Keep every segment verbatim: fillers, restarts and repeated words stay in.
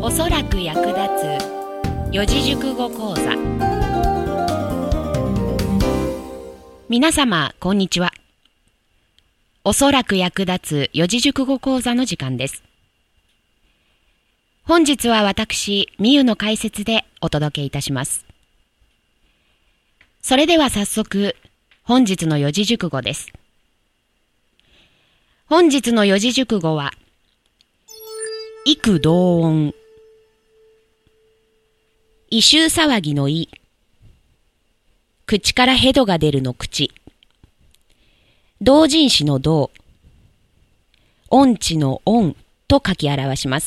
おそらく役立つ四字熟語講座。皆様こんにちは。おそらく役立つ四字熟語講座の時間です。本日は私みゆの解説でお届けいたします。それでは早速本日の四字熟語です。本日の四字熟語は異口同音。異臭騒ぎの異、口からヘドが出るの口、同人詞の同、音痴の音と書き表します。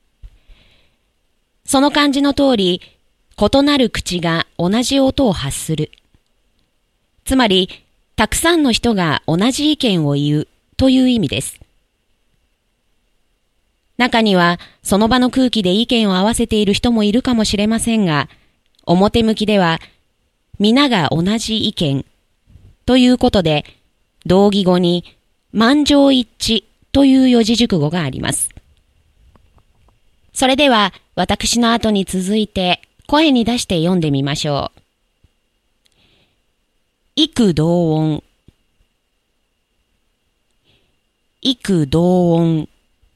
その漢字の通り、異なる口が同じ音を発する。つまり、たくさんの人が同じ意見を言うという意味です。中にはその場の空気で意見を合わせている人もいるかもしれませんが、表向きでは皆が同じ意見ということで、同義語に満場一致という四字熟語があります。それでは私の後に続いて声に出して読んでみましょう。異口同音、異口同音。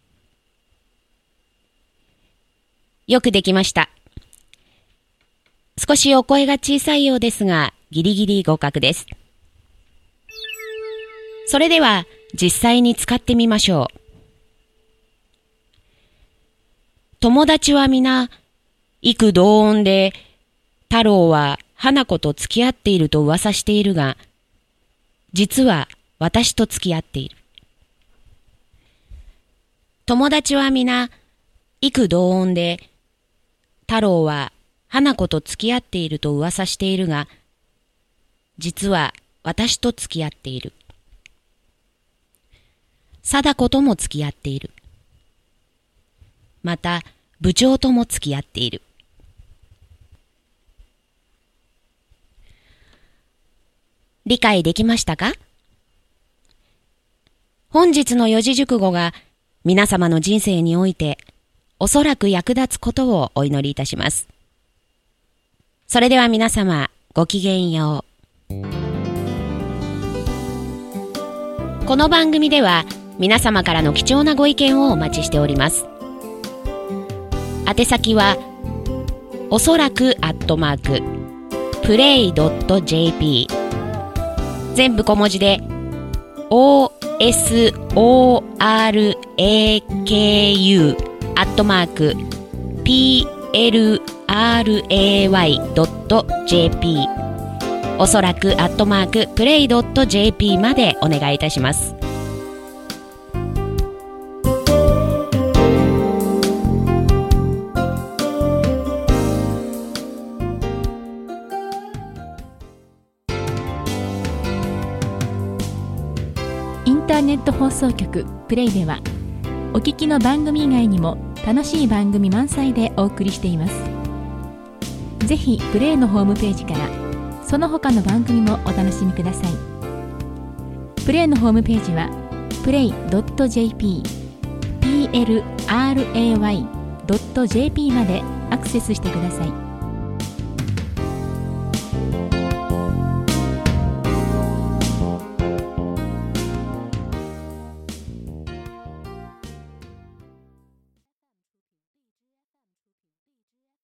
よくできました。少しお声が小さいようですが、ギリギリ合格です。それでは実際に使ってみましょう。友達は皆異口同音で、太郎は花子と付き合っていると噂しているが、実は私と付き合っている。友達は皆異口同音で、太郎は花子と付き合っていると噂しているが、実は私と付き合っている。貞子とも付き合っている。また部長とも付き合っている。理解できましたか？本日の四字熟語が皆様の人生においておそらく役立つことをお祈りいたします。それでは皆様ごきげんよう。この番組では皆様からの貴重なご意見をお待ちしております。宛先はおそらくアットマークプレイドットジェーピー、 全部小文字で オーエスオーアールエーケーユーアットマーク ピーエルアールエーワイドットジェーピー、 おそらくアットマークプレイドットジェーピーまでお願いいたします。 インターネット放送局プレイでは、お聞きの番組以外にも楽しい番組満載でお送りしています。ぜひプレイのホームページからその他の番組もお楽しみください。プレイのホームページは プレイドットジェーピー、ピーエルアールエーワイドットジェーピー までアクセスしてください。